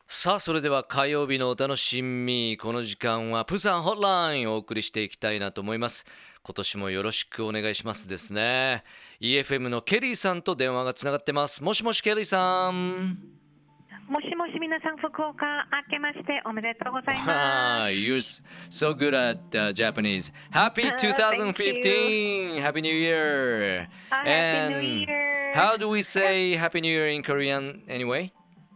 さあそれでは火曜日のお楽しみ、この時間はプサンホットラインをお送りしていきたいなと思います。今年もよろしくお願いしますですね。 EFM のケリーさんと電話がつながってます。もしもしケリーさん。 もしもし皆さん、福岡明けましておめでとうございまます。 You're so good at Japanese. Happy Thank you. 2015. Happy New Year. Happy New And Year. how do we say Happy New Year in Korean anyway?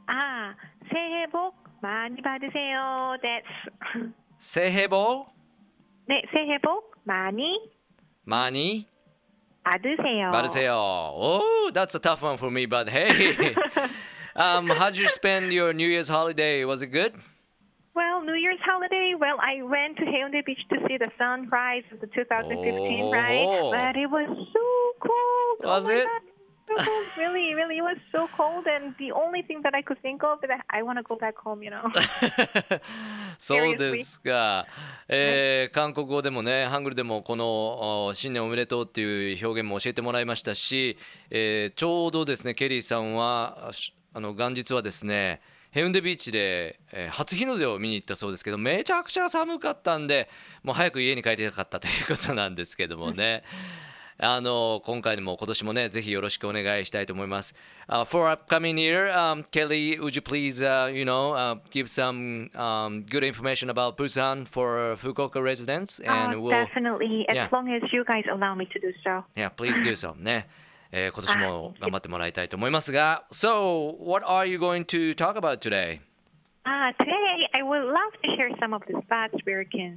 새해 복 많이 받으세요. That's 새해 복 네, 새해 복 많이 많이 받으세요. 받으세요. Oh, that's a tough one for me, but hey. How did you spend your New Year's holiday? Was it good? Well, New Year's holiday, I went to Haeundae Beach to see the sunrise of the 2015, right? Oh. But it was so cold. Was oh my it? God. So cold. Really, really, it was so cold, and the only thing that I could think of is that I want to go back home, you know. そうですか、韓国語でもね、ハングルでもこの新年おめでとうっていう表現も教えてもらいましたし、ちょうどですねケリーさんは元日はですねヘウンデビーチで、初日の出を見に行ったそうですけど、めちゃくちゃ寒かったんでもう早く家に帰りたかったということなんですけどもね。今回も今年もねぜひよろしくお願いしたいと思います。For upcoming year, Kelly, would you please, give some good information about Busan for Fukuoka residents? And we'll, Definitely, as yeah, long as you guys allow me to do so. yeah, please do so. ね、今年も頑張ってもらいたいと思いますが、So, what are you going to talk about today? Today, I would love to share some of the spots where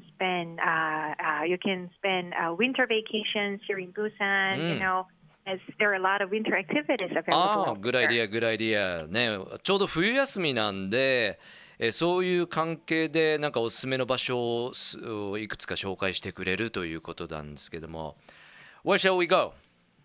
you can spend winter vacations here in Busan. You know, as there are a lot of winter activities available. Good idea, good idea. ね、ちょうど冬休みなんで、そういう関係でなんかおすすめの場所をいくつか紹介してくれるということなんですけども。Where shall we go?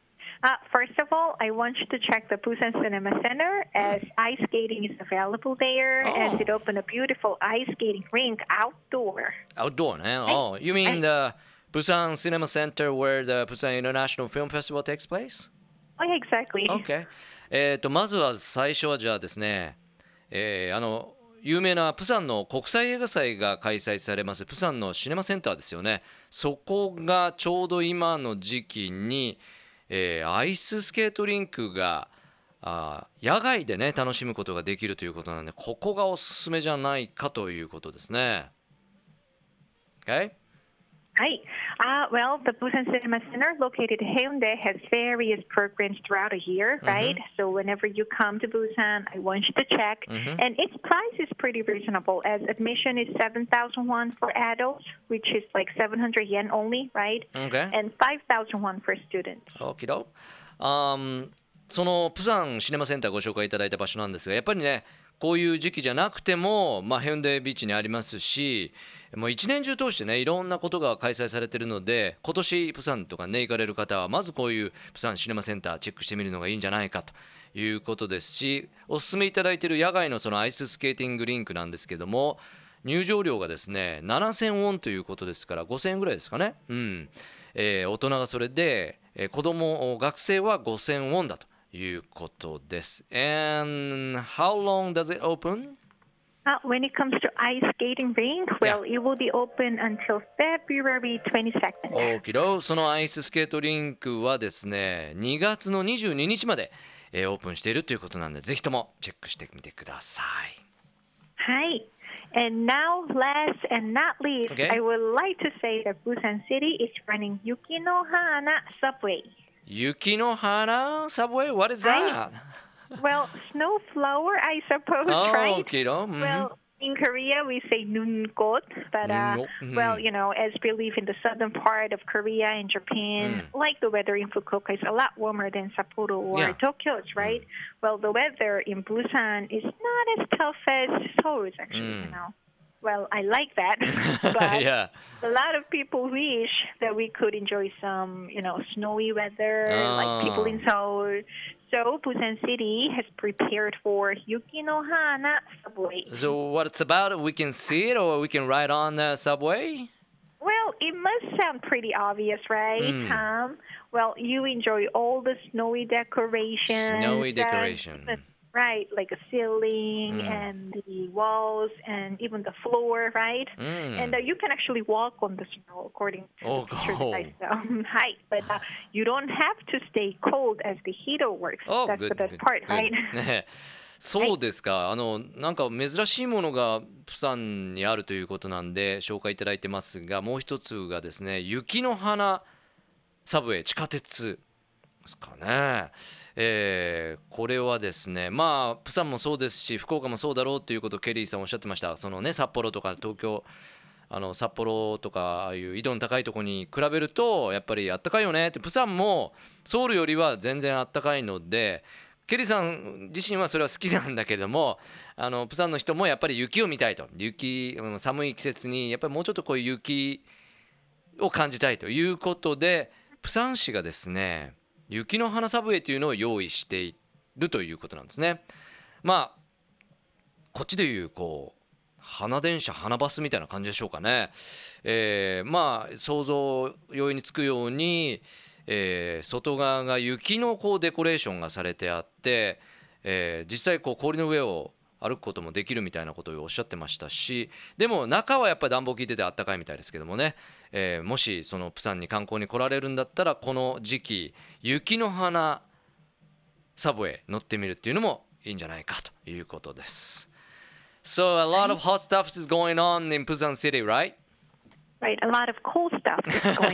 First of all, I want you to check the Busan Cinema Center as ice skating is available there, as it opened a beautiful ice skating rink outdoor. Outdoor ね。Oh, you mean the Busan Cinema Center where the Busan International Film Festival takes place? Oh, yeah, exactly. Okay. まずは最初はじゃあですね、有名なプサンの国際映画祭が開催されますプサンのシネマセンターですよね。そこがちょうど今の時期にアイススケートリンクが野外でね楽しむことができるということなので、ここがおすすめじゃないかということですね。Okay? Hi. Well, the Busan Cinema Center located in Haeundae has various programs throughout a year, right? So whenever you come to Busan, I want you to check. And its price is pretty reasonable, as admission is 7,000 won for adults, which is like 700 yen only, right? Okay. And 5,000 won for students. Okay. そのプサンシネマセンターご紹介いただいた場所なんですが、やっぱりねこういう時期じゃなくても、ヘウンデビーチにありますし、もう一年中通してねいろんなことが開催されているので、今年プサンとかね行かれる方はまずこういうプサンシネマセンターチェックしてみるのがいいんじゃないかということですし、おすすめいただいている野外のそのアイススケーティングリンクなんですけども、入場料がですね7000ウォンということですから5000円ぐらいですかね。大人がそれで、子供学生は5000ウォンだということです。And how long does it open? When it comes to ice skating rink, well, it will be open until February 22nd. Okay. そのアイススケートリンクはですね、2月の22日まで、オープンしているということなので、ぜひともチェックしてみてください。 はい。And now, last and not least, I would like to say that Busan City is running Yukinohana Subway. Yukinohana Subway? What is that? Well, snowflower, I suppose, right? Okay. Well, in Korea, we say nunkot, but, well, you know, as we live in the southern part of Korea and Japan, like the weather in Fukuoka is a lot warmer than Sapporo or Tokyo, right? Well, the weather in Busan is not as tough as Seoul's, actually, you know. Well, I like that, but a lot of people wish that we could enjoy some, you know, snowy weather like people in Seoul. So Busan City has prepared for Yukinohana Subway. So what it's about, we can see it or we can ride on the subway? Well, it must sound pretty obvious, right? Well, you enjoy all the snowy decorations. Snowy decoration. Right, like a ceiling and the walls and even the floor, right? And you can actually walk on the snow according to the picture that I saw. Hi, but you don't have to stay cold as the heater works. That's the best part, right? そうですか。なんか珍しいものがプサンにあるということなんで紹介いただいてますが、もう一つがですね、雪の花サブウェイ、地下鉄ですかね。これはですね、まあプサンもそうですし福岡もそうだろうということをケリーさんおっしゃってました。そのね、札幌とか東京、札幌とかああいう緯度の高いところに比べるとやっぱりあったかいよねって。プサンもソウルよりは全然あったかいので、ケリーさん自身はそれは好きなんだけども、プサンの人もやっぱり雪を見たいと、寒い季節にやっぱりもうちょっとこういう雪を感じたいということで、プサン市がですね雪の花サブウェイというのを用意しているということなんですね。まあこっちでいうこう花電車、花バスみたいな感じでしょうかね。まあ想像容易につくように、外側が雪のこうデコレーションがされてあって、実際こう氷の上を歩くこともできるみたいなことをおっしゃってましたし、でも中はやっぱり暖房効いててあったかいみたいですけどもね、もしそのプサンに観光に来られるんだったらこの時期雪の花サブウェイ乗ってみるっていうのもいいんじゃないかということです。So a lot of hot stuff is going on in Busan City, right? Right, a lot of cool stuff is going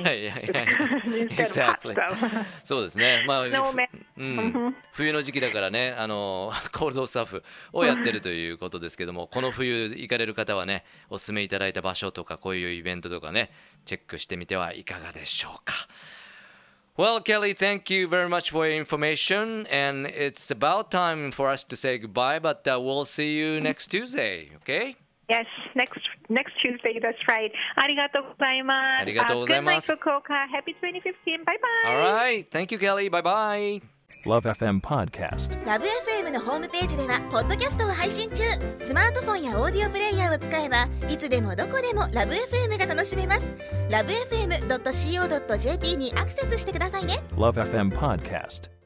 instead of hot stuff. そうですね。まあ、冬の時期だからね、コールドスタッフをやってるということですけども、この冬行かれる方はね、お勧めいただいた場所とかこういうイベントとかね、チェックしてみてはいかがでしょうか。Well, Kelly, thank you very much for your information, and it's about time for us to say goodbye, but we'll see you next Tuesday, okay? Yes, next Tuesday, that's right. ありがとうございます。 ありがとうございます。 Good night, Fukuoka. Happy 2015. Bye bye. All right. Thank you, Kelly. Bye bye. Love FM Podcast。 ラブ FM のホームページではポッドキャストを配信中。スマートフォンやオーディオプレイヤーを使えばいつでもどこでもラブ FM が楽しめます。ラブ FM.co.jp にアクセスしてくださいね。 Love FM Podcast。